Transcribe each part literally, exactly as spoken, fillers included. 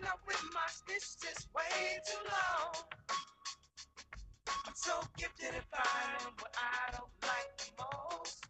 up with my snitch just way too long. I'm so gifted at finding what I don't like the most.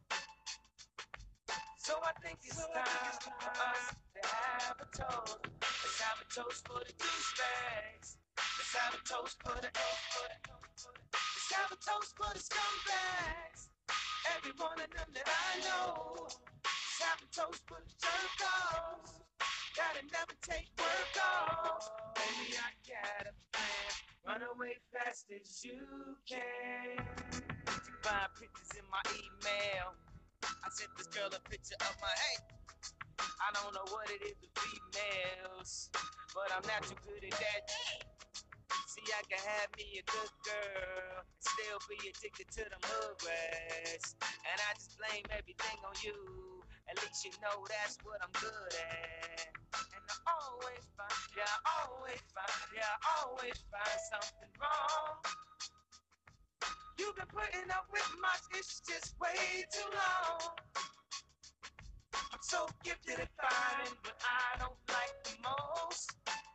So I think it's time for us to have a toast. Let's have a toast for the douchebags. Let's have a toast for the Let's have a toast for the scumbags. Every one of them that I know. Let's have a toast for the jerk-offs. Gotta never take work off. Baby, I got a plan. Run away fast as you can. You find pictures in my email. I sent this girl a picture of my hey. I don't know what it is with females, but I'm not too good at that. See, I can have me a good girl and still be addicted to the hood rats. And I just blame everything on you. At least you know that's what I'm good at. And I always find, yeah, I always find, yeah, I always find something wrong. You've been putting up with my issues just way too long. I'm so gifted at finding what I don't like the most.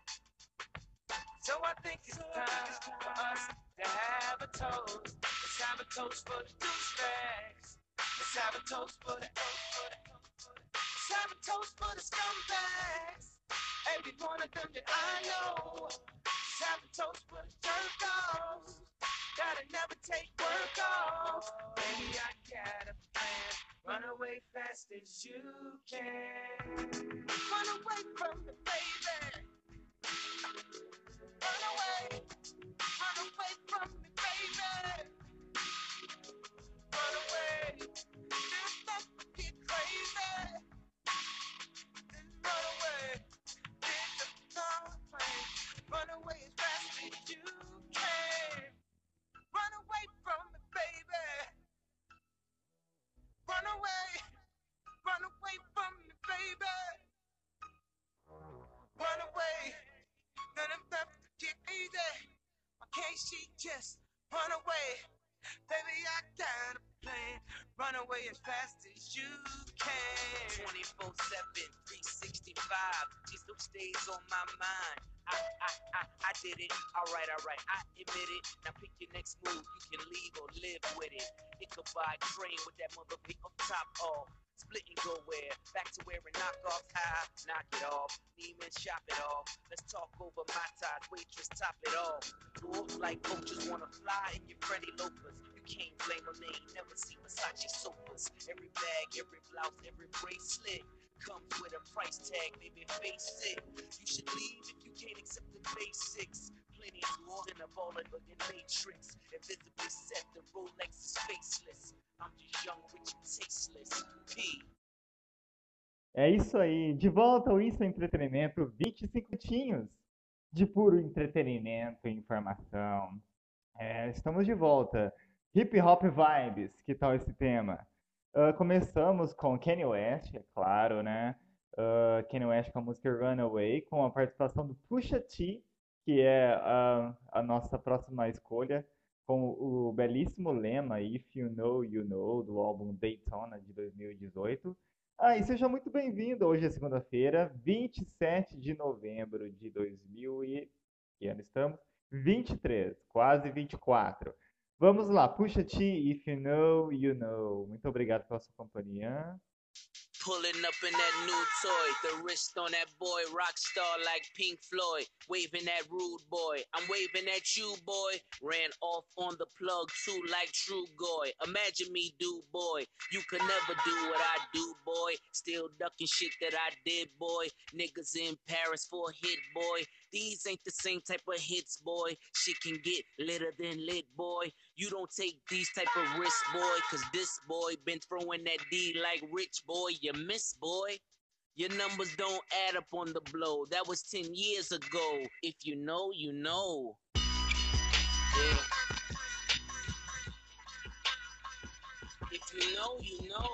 So I think it's time for us to have a toast. Let's have a toast for the douchebags. Let's have a toast for the Let's have a toast for the scumbags. Every one of them that I know. Let's have a toast for the jerk-offs. Gotta never take work off. Baby, I got a plan. Run away fast as you can. Run away from me, baby. Run away. Run away from me, baby. Run away. Just let me get crazy. Then run away. Pick up the plane. Run away as fast as you can. Run away from me, baby. Run away. Run away from me, baby. Run away. None of them get easy. Why can't she just run away? Baby, I got a plan. Run away as fast as you can. twenty-four seven, three sixty-five. She still stays on my mind. I, I, I, I did it. Alright, alright, I admit it. Now pick your next move. You can leave or live with it. It could buy a train with that motherfucker up top off. Split and go where? Back to wearing knockoffs. High, knock it off. Neiman, shop it off. Let's talk over my ties. Waitress, top it off. Dwarf like coaches wanna fly in your Freddy loafers. You can't blame them. They ain't never seen Versace sofas. Every bag, every blouse, every bracelet comes with a price tag, maybe face it. You should leave if you can't accept the basics. Plenty is more than a baller but in Matrix. Invisibly set, the Rolex is faceless. I'm just young, rich and tasteless. P. É isso aí, de volta ao Isso é Entretenimento, vinte e cinco minutinhos de puro entretenimento e informação. É, estamos de volta. Hip Hop Vibes, que tal esse tema? Uh, começamos com Kanye West, é claro, né? Uh, Kanye West com a música Runaway, com a participação do Pusha T, que é a, a nossa próxima escolha, com o belíssimo lema If You Know, You Know, do álbum Daytona de dois mil e dezoito. Ah, e seja muito bem-vindo, hoje é segunda-feira, vinte e sete de novembro de dois mil e... que ano estamos? vinte e três, quase vinte e quatro. Vamos lá, Pusha T, If You Know, You Know. Muito obrigado pela sua companhia. Pulling up in that new toy, the wrist on that boy, rock star like Pink Floyd, waving that rude boy, I'm waving at you boy, ran off on the plug too like True Goy, imagine me do boy, you could never do what I do boy, still ducking shit that I did boy, niggas in Paris for a hit boy, these ain't the same type of hits boy, shit can get litter than lit boy, you don't take these type of risks boy, cause this boy been throwing that D like Rich boy, you miss boy. Your numbers don't add up on the blow. That was ten years ago. If you know, you know. Yeah. If you know, you know.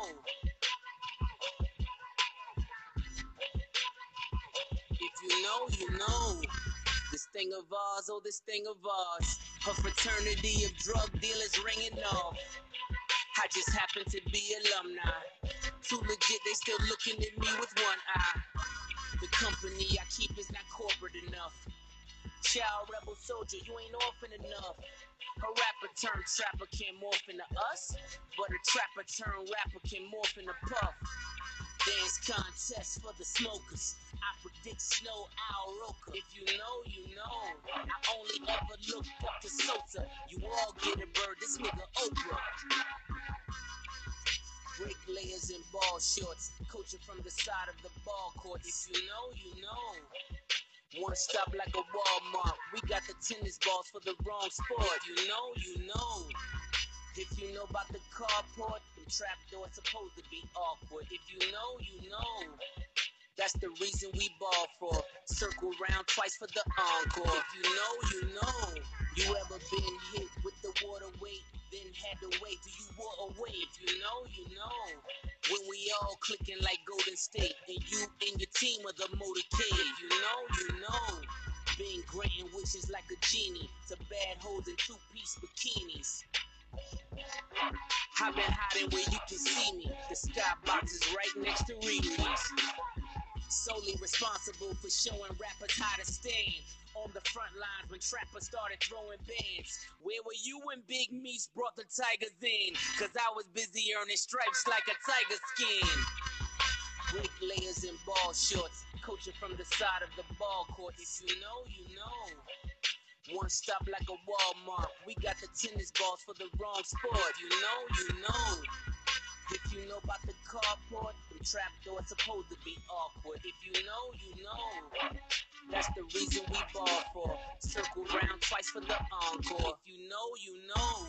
If you know, you know. This thing of ours, oh, this thing of ours. Her fraternity of drug dealers ringing off. I just happen to be alumni. Too legit, they still looking at me with one eye. The company I keep is not corporate enough. Child rebel soldier, you ain't orphan enough. A rapper turned trapper can morph into us, but a trapper turned rapper can morph into Puff. Dance contest for the smokers. I predict Snow Owl Roker. If you know, you know. I only ever look up to Sosa. You all get a bird, this nigga Oprah. Break layers in ball shorts. Coaching from the side of the ball court. If you know, you know. One stop like a Walmart. We got the tennis balls for the wrong sport. If you know, you know. If you know about the carport, them trap doors supposed to be awkward. If you know, you know. That's the reason we ball for. Circle round twice for the encore. If you know, you know. You ever been hit with the water weight, then had to wait till you wore away? If you know, you know. When we all clicking like Golden State, and you and your team are the motorcade. If you know, you know. Been granting wishes like a genie to bad hoes in two-piece bikinis. I've been hiding where you can see me. The skybox is right next to Riri's. Solely responsible for showing rappers how to stand on the front lines when trappers started throwing bands. Where were you when Big Meats brought the Tigers in? Cause I was busy earning stripes like a tiger skin. Break layers in ball shorts, coaching from the side of the ball court. If you know, you know. One stop like a Walmart. We got the tennis balls for the wrong sport. You know, you know. If you know about the carport, the trap doors supposed to be awkward. If you know, you know. That's the reason we ball for. Circle round twice for the encore. If you know, you know.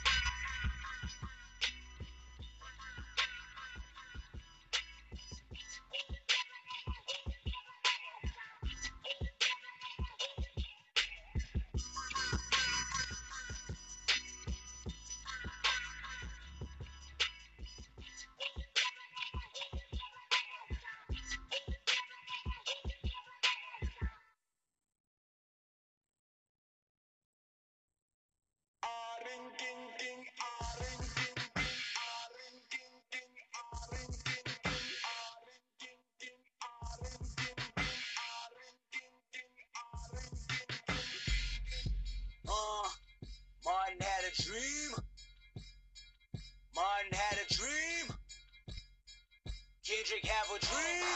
Uh, Martin had a dream. Martin had a dream. Kendrick have a dream.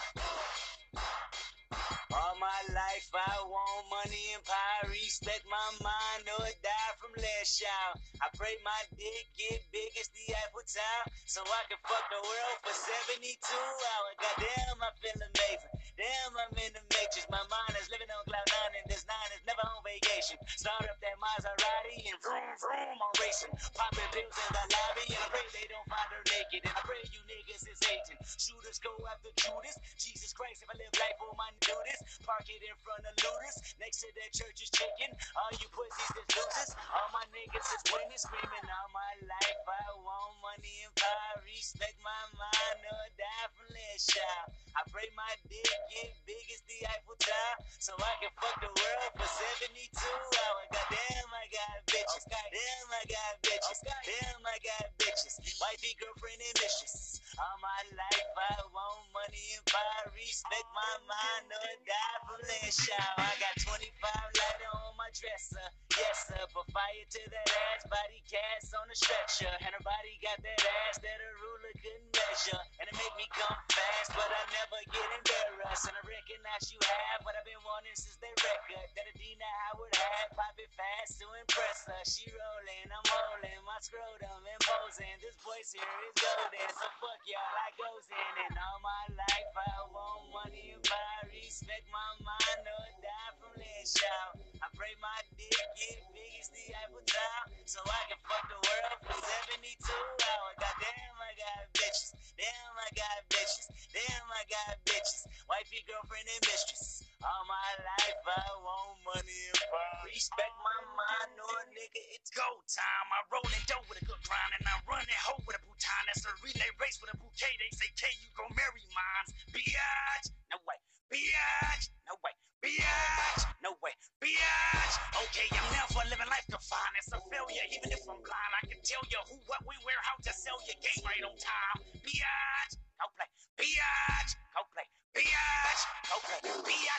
All my life I want money and power, respect my mind or die from last child. I pray my dick get big as the Eiffel Tower, so I can fuck the world for seventy-two hours. Goddamn, I feel amazing. Damn, I'm in the matrix. My mind is living on cloud nine, and this nine is never on vacation. Start up that Maserati and vroom vroom, I'm racing. Popping pills in the lobby, and I pray they don't find her naked. And I pray you niggas is hating. Shooters go after Judas. Jesus Christ, if I live life, will my do this? Park it in front of looters. Next to that church is chicken. All you pussies is losers. All my niggas is winning, screaming all my life. I want money and power, respect my mind or die from last child. I pray my dick get big as the Eiffel Tower, so I can fuck the world for seventy-two hours. Goddamn, I got bitches. Damn, I got bitches. Damn, I got bitches. Wifey, girlfriend, and mistress. All my life I want money and power, respect my mind or die from last child. I got twenty-five lighter on my dresser. Yes, sir, put fire to that ass, body cast on a stretcher. And her body got that ass that a ruler couldn't measure. And it make me come fast, but I never get embarrassed. And I recognize you have what I've been wanting since they record that Adina Howard had. Pop it fast to impress her. She rolling, I'm holding my scrotum and posing. This voice here is golden, so fuck y'all, I goes in. And all my life I want money and power, respect my mind or die from last child. I pray my dick get big as the Eiffel Tower, so I can fuck the world for seventy-two hours. Goddamn, I got bitches. Damn, I got bitches. Damn, I got bitches. Wifey, girlfriend, and mistress. All my life I want money and power. Respect my mind, no nigga, it's go time. I roll it dough with a good grind, and I run it hoe with a bouton. That's a relay race with a bouquet. They say, K, you gon' marry mines. Biatch, no way. Biatch, no way. Biatch, no way. Biatch, okay, I'm never living life confined. It's a failure, even if I'm blind. I can tell you who, what, when, where, how to sell your game right on time. Biatch, go play. Biatch, go play. Biatch, go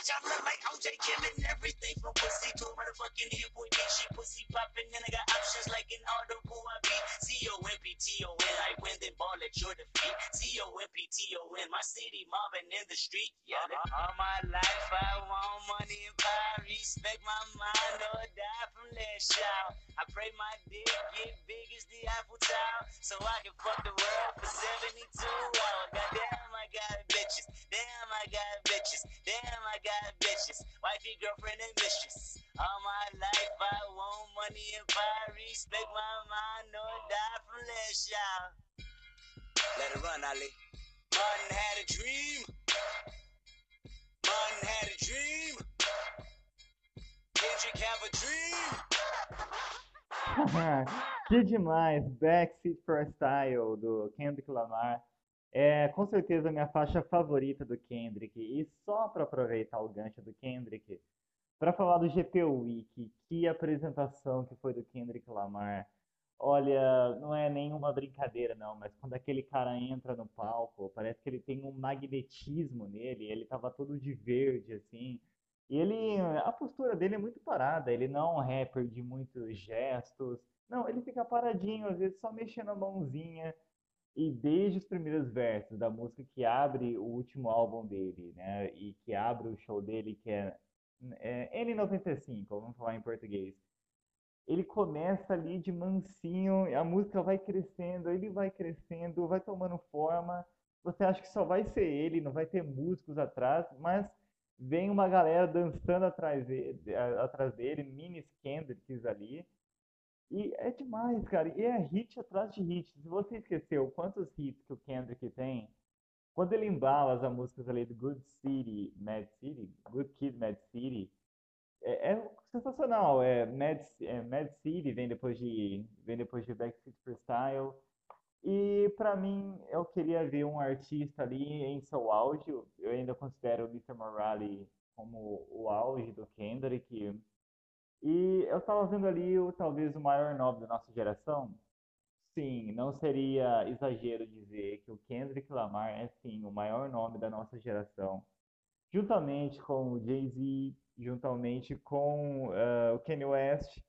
bitch, I look like O J killing everything from pussy to a motherfucking hit boy bitch. She pussy popping and I got options like an audible I beat. C O M P T O N, I win then ball at your defeat. C O M P T O N, my city mobbing in the street. Yeah, all my life I want money and power. Respect my mind or die from that shout. I pray my dick get big as the Eiffel Tower, so I can fuck the world for seventy-two hours. Goddamn, I got bitches. Damn, I got bitches. Damn, I got bitches. Wifey, girlfriend, and mistress. All my life I want money and power. Respect my mind or die from that shout. Let it run, Ali. Martin had a dream. Martin had a dream. Kendrick have a dream. Que demais! Backseat for Style, do Kendrick Lamar. É com certeza a minha faixa favorita do Kendrick. E só para aproveitar o gancho do Kendrick, para falar do G P Week, que apresentação que foi do Kendrick Lamar. Olha, não é nenhuma brincadeira não, mas quando aquele cara entra no palco, parece que ele tem um magnetismo nele, ele tava todo de verde assim. E ele, a postura dele é muito parada, ele não é um rapper de muitos gestos. Não, ele fica paradinho, às vezes só mexendo a mãozinha. E desde os primeiros versos da música que abre o último álbum dele, né? E que abre o show dele, que é, é N noventa e cinco, vamos falar em português. Ele começa ali de mansinho, a música vai crescendo, ele vai crescendo, vai tomando forma. Você acha que só vai ser ele, não vai ter músicos atrás, mas vem uma galera dançando atrás dele, atrás dele, mini Kendricks ali. E é demais, cara. E é hit atrás de hit. Se você esqueceu quantos hits que o Kendrick tem, quando ele embala as músicas ali do Good City, Mad City, Good Kid, Mad City, é, é sensacional. É Mad, é Mad City vem depois de vem depois de Backseat Freestyle. E pra mim, eu queria ver um artista ali em seu auge. Eu ainda considero o mister Morale como o auge do Kendrick. E eu tava vendo ali o talvez o maior nome da nossa geração. Sim, não seria exagero dizer que o Kendrick Lamar é sim o maior nome da nossa geração, juntamente com o Jay-Z, juntamente com eh, o Kanye West.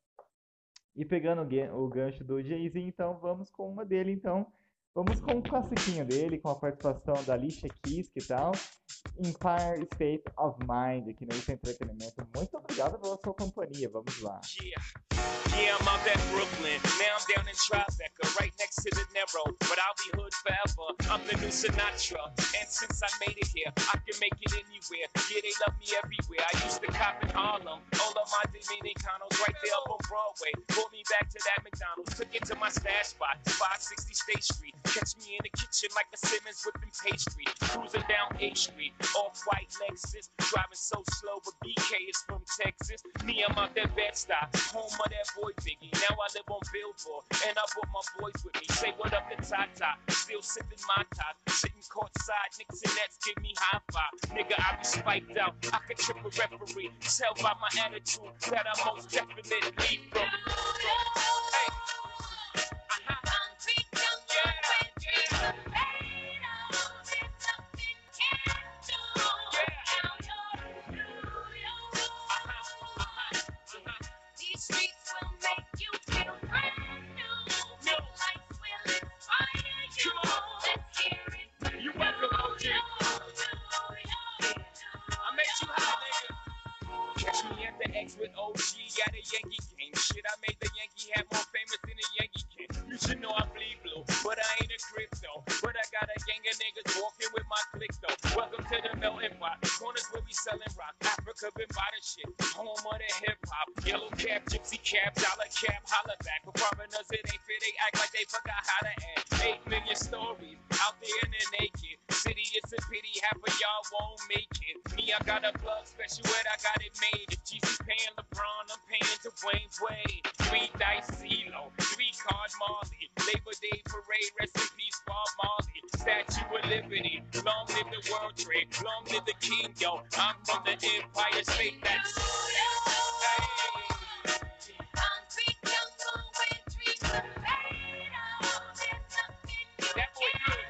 E pegando o gan- o gancho do Jay-Z, então vamos com uma dele, então. Vamos com um classiquinho dele, com a participação da Alicia Keys, que tal? Empire State of Mind, aqui no Isso é Entretenimento. Muito obrigado pela sua companhia, vamos lá. Yeah. Yeah, I'm out at Brooklyn. Now I'm down in Tribeca, right next to the Narrow. But I'll be hood forever. I'm the new Sinatra. And since I made it here, I can make it anywhere. Yeah, they love me everywhere. I used to cop in Harlem. All of my Dominicanos right there up on Broadway. Pulled me back to that McDonald's. Took it to my stash spot, five sixty State Street. Catch me in the kitchen like a Simmons whipping pastry. Cruising down A Street, off-white Lexus. Driving so slow, but B K is from Texas. Me, I'm out that Bed-Stuy, home of that boy Biggie. Now I live on Billboard, and I brought my boys with me. Say what up to Tata, still sipping my top. Sitting courtside, Knicks and Nets give me high five. Nigga, I be spiked out, I could trip a referee. Tell by my attitude that I most definitely from. Hey. With O G at a Yankee game. Shit, I made the Yankee hat more famous than a Yankee can. You should know I bleed blue, but I ain't a crypto. But I got a gang of niggas walking with my click though. Welcome to the melting pot. Corners where we selling rock. Africa been by the shit. Home of the hip hop. Yellow cap, gypsy cap, dollar cap, holla back. For foreigners, it ain't fit. They act like they forgot how to act. Eight million stories out there in the naked city. It's a pity half of y'all won't make it. Me, I got a plug special where I got it made. If Jesus paying LeBron, I'm paying Dwayne Wade. Three dice CeeLo, three card Marley. Labor Day parade, rest in peace, Bob Marley. Statue of Liberty, long live the World Trade, long live the King, yo. I'm from the Empire State, that's hey. That boy good.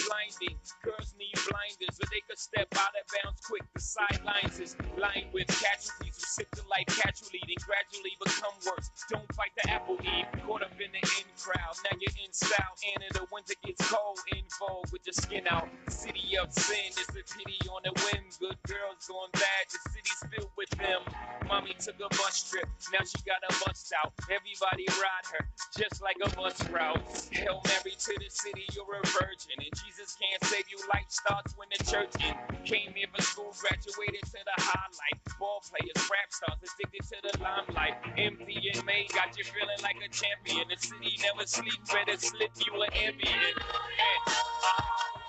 blinding. Girls need blinders so they could step out of bounds quick. The sidelines is lined with casualties who sip the life casually, then gradually become worse. Don't fight the apple eve, caught up in the in crowd. Now you're in style, and in the winter gets cold, in vogue with your skin out. City of sin is a pity on the whim. Good girls going bad, the city's filled with them. Mommy took a bus trip, now she got a bust out. Everybody ride her, just like a bus route. Hail Mary to the city, you're a virgin, and Jesus can't save you. Life starts when the church in. Came here for school, graduated to the highlight. Ball players, rap stars, addicted to the limelight. M P and May got you feeling like a champion. The city never sleep, better slip you an ambient. And, uh,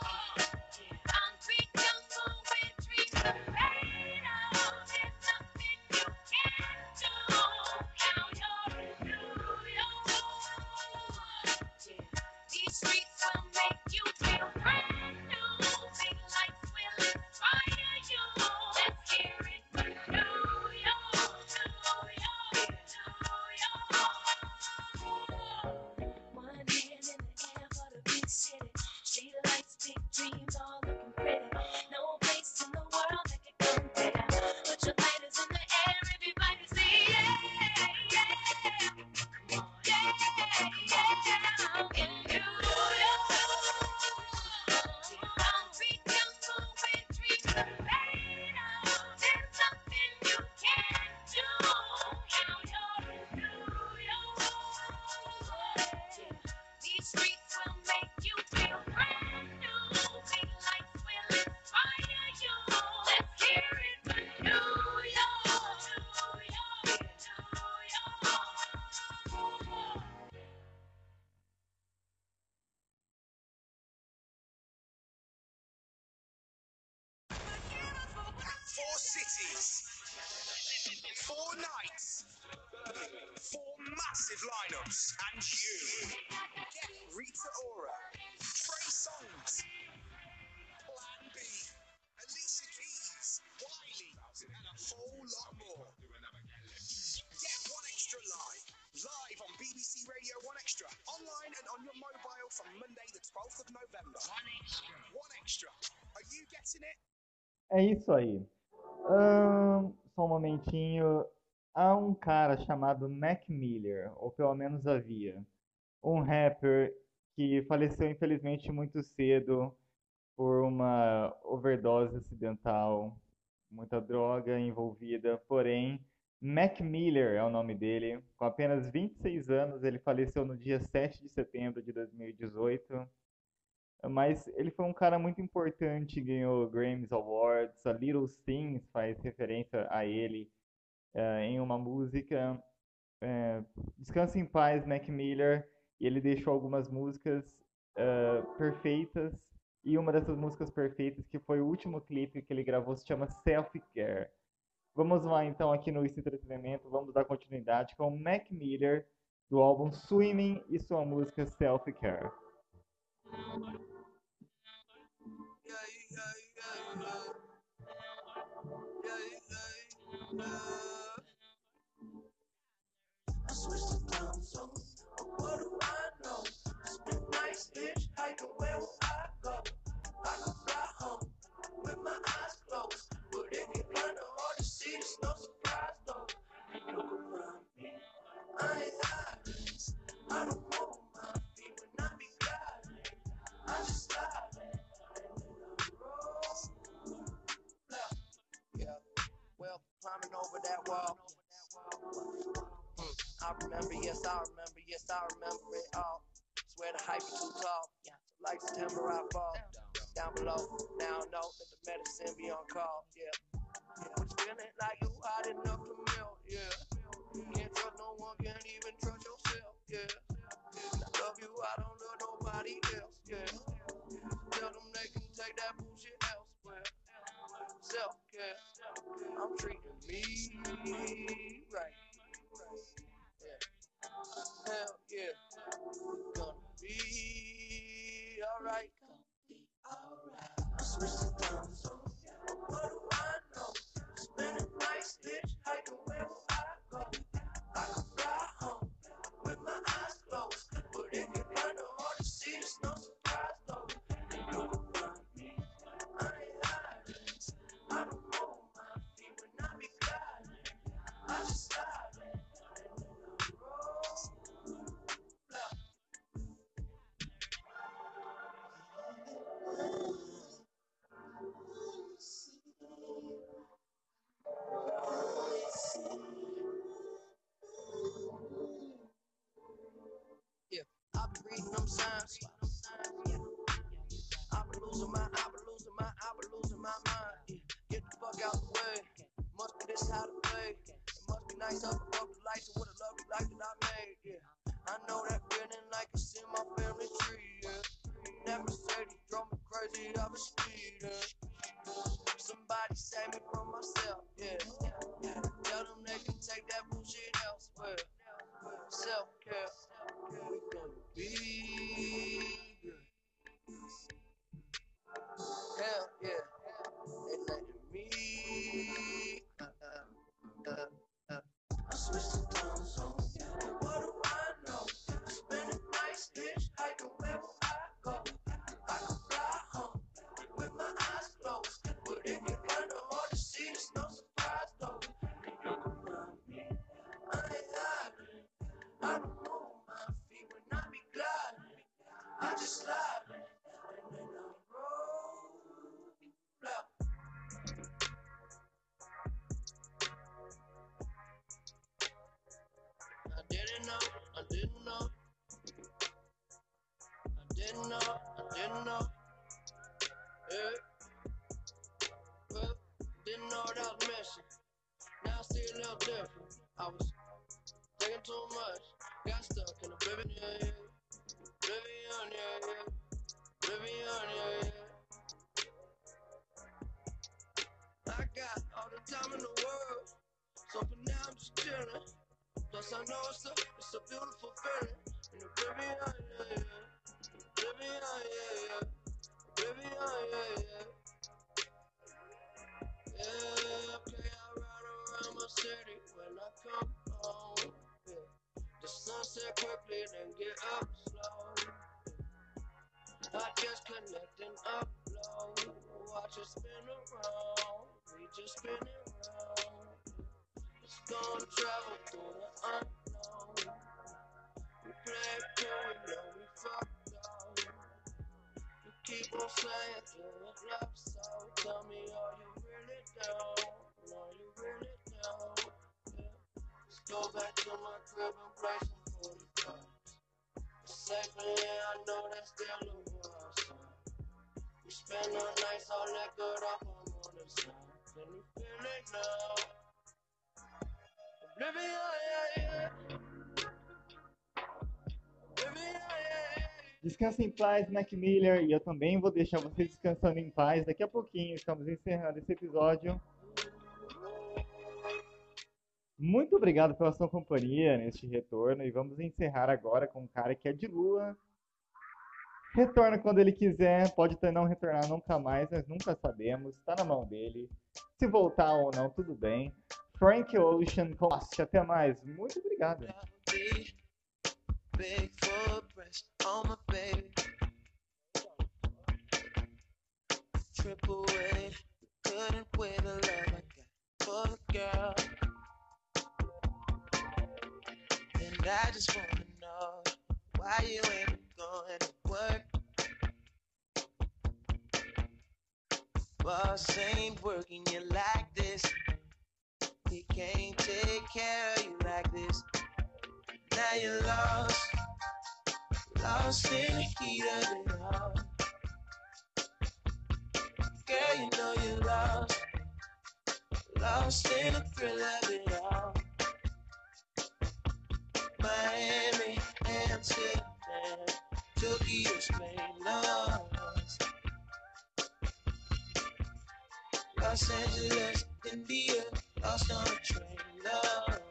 Four cities, four nights, four massive lineups, and you get Rita Ora, Trey Songz, Plan B, Alicia Keys, Wiley, and a whole lot more. Get One Extra live, live on B B C Radio One Extra, online and on your mobile from Monday the twelfth of November. One Extra. One Extra. Are you getting it? É isso aí. Ahn, só um momentinho. Há um cara chamado Mac Miller, ou pelo menos havia, um rapper que faleceu infelizmente muito cedo por uma overdose acidental, muita droga envolvida. Porém, Mac Miller é o nome dele. Com apenas vinte e seis anos, ele faleceu no dia sete de setembro de dois mil e dezoito. Mas ele foi um cara muito importante, ganhou Grammys Awards. A Little Things faz referência a ele eh, em uma música. Eh, Descansa em paz, Mac Miller. E ele deixou algumas músicas eh, perfeitas. E uma dessas músicas perfeitas, que foi o último clipe que ele gravou, se chama Self Care. Vamos lá então aqui no Isso Entretenimento, vamos dar continuidade com o Mac Miller do álbum Swimming e sua música Self Care. I switched to time zones. What do I know? Spend nights hitchhiking, where will I go? I could fly home with my eyes closed, but if you're kind of hard to see, it's no surprise though. Look around me, I ain't hiding. I don't move my feet when I be gliding. I just slide. Yeah, well, climbing over that wall. I remember, yes, I remember, yes, I remember it all. Swear the hype is too tall. Like September, I fall down below. Now I know that the medicine be on call. Yeah, yeah. But feeling like you hot enough to melt. Yeah, can't trust no one, can't even trust yourself. Yeah, I love you, I don't love nobody else. Yeah, tell them they can take that bullshit elsewhere. Self care, I'm treating me right. Hell yeah, gonna be alright. Gonna be alright. I switched to time zones. What do I know? Spending nights hitchhiking, where will I go? I could fly home with my eyes closed, but if you're kinda hard to see, it's no surprise though. Look losing my, I been losing my, I been losing my mind. Yeah. Get the fuck out the way. Must be this how to play. It must be nice up above the lights and what a lovely life that I made. Yeah. I know that feeling like it's in my family tree. Yeah. That Mercedes drove me crazy, I was speeding. Somebody save me from myself. Yeah. Yeah. Tell them they can take that bullshit elsewhere. Self-care. We gonna be good. Hell yeah. They letting me. Uh, uh, uh, uh. I switched the time zone. What do I know? Spending nights hitchhiking wherever I go. I can fly home with my eyes closed. But if you find it hard to see, it's no surprise though. You can find me. I ain't hiding. I don't move my feet when I be gliding. I just slide and then I roll. Look. I didn't know, I didn't know, I didn't know, I didn't know, yeah. Well, didn't know that I was messing. Now I see a little different. I was thinking too much, got stuck in oblivion, yeah, yeah. Oblivion, yeah, yeah. Oblivion, yeah, yeah. I got all the time in the world, so for now I'm just chilling. Plus I know it's a, it's a beautiful feeling. In oblivion, yeah, yeah. Oblivion, yeah, yeah. Oblivion, yeah, yeah. Yeah, okay, I ride around my city when I come home. Yeah. The sunset quickly, then get up slow. I just connect and upload. Watch it spin around. We just spin it around. It's gonna travel through the unknown. We play it cool, we know we fucked up. You keep on saying do it love so. Tell me, are you really down? Are you really down? Yeah. Let's go back to my crib and play some forty cards. It's safe in here, I know that's still a war song. We spend our nights all liquored up on morning sun. Can you feel it now? Oblivion, yeah, yeah. Oblivion, yeah, yeah. Descansa em paz, Mac Miller, e eu também vou deixar você descansando em paz. Daqui a pouquinho estamos encerrando esse episódio. Muito obrigado pela sua companhia neste retorno e vamos encerrar agora com um cara que é de lua. Retorna quando ele quiser, pode até não retornar nunca mais, nós nunca sabemos, está na mão dele. Se voltar ou não, tudo bem. Frank Ocean, Cost, até mais. Muito obrigado. Big footprints on my baby. Triple A, couldn't wait the love I got for the girl. And I just wanna know why you ain't going to work. Boss ain't working you like this. He can't take care of you like this. Now you're lost, lost in the heat of it all. Girl, you know you're lost, lost in the thrill of it all. Miami, Amsterdam, Tokyo, Spain, lost. Los Angeles, India, lost on a train, lost.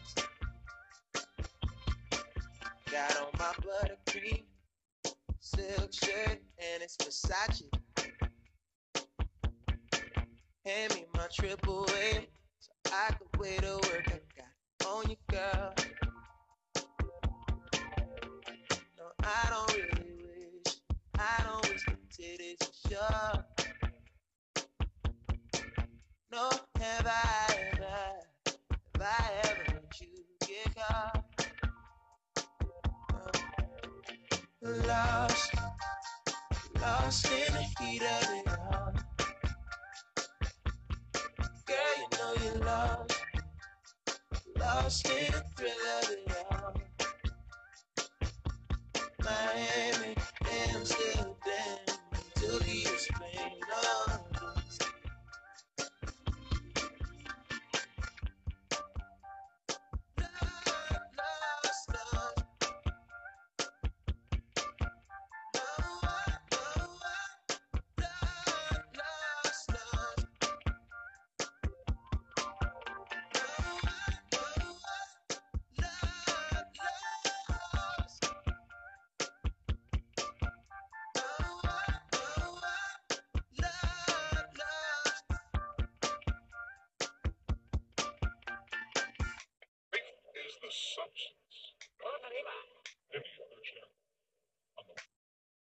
Got on my buttercream silk shirt and it's Versace. Hand me my triple A so I could way to work I got on you, girl. No, I don't really wish, I don't wish the titties for sure. No, have I ever, have I ever let you get caught? Lost, lost in the heat of it all. Girl, you know you're lost, lost in the thrill